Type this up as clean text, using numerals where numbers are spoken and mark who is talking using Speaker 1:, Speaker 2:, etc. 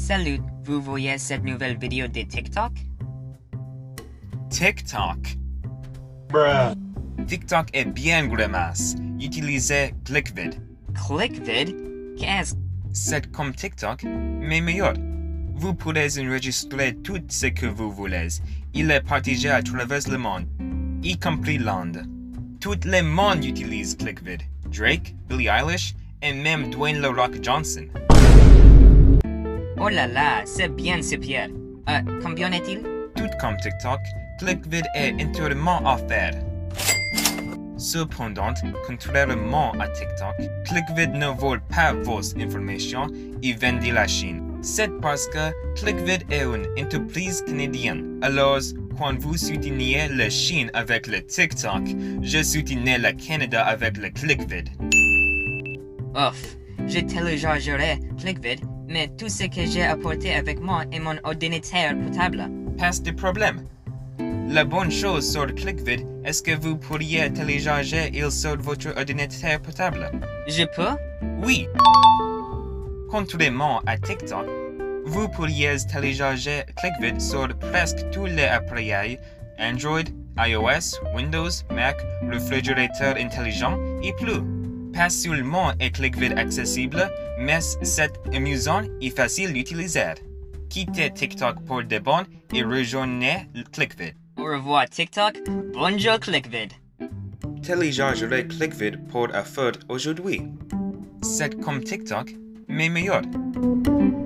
Speaker 1: Salut, vous voyez cette nouvelle vidéo de TikTok?
Speaker 2: TikTok.
Speaker 3: Bruh.
Speaker 2: TikTok est bien grimace. Utilisez ClickVid.
Speaker 1: ClickVid? Qu'est-ce?
Speaker 2: C'est comme TikTok, mais meilleur. Vous pourrez enregistrer tout ce que vous voulez. Il est partagé à travers le monde, y compris l'Inde. Tout le monde utilise ClickVid. Drake, Billie Eilish et même Dwayne The Rock Johnson.
Speaker 1: Oh là là, c'est bien super. Combien est-il?
Speaker 2: Tout comme TikTok, ClickVid est entièrement offert. Cependant, contrairement à TikTok, ClickVid ne vole pas vos informations et vend de la Chine. C'est parce que ClickVid est une entreprise canadienne. Alors, quand vous soutenez la Chine avec le TikTok, je soutiens le Canada avec le ClickVid.
Speaker 1: Ouf, je téléchargerai ClickVid, mais tout ce que j'ai apporté avec moi est mon ordinateur portable.
Speaker 2: Pas de problème. La bonne chose sur ClickVid est que vous pourriez télécharger il sur votre ordinateur portable.
Speaker 1: Je peux?
Speaker 2: Oui. Contrairement à TikTok, vous pourriez télécharger ClickVid sur presque tous les appareils Android, iOS, Windows, Mac, réfrigérateur intelligent et plus. Pas seulement est ClickVid accessible, mais c'est amusant et facile d'utiliser. Quittez TikTok pour de bon et rejoignez ClickVid.
Speaker 1: Au revoir TikTok, bonjour ClickVid.
Speaker 2: Téléchargerez ClickVid pour un feu aujourd'hui. C'est comme TikTok, mais meilleur.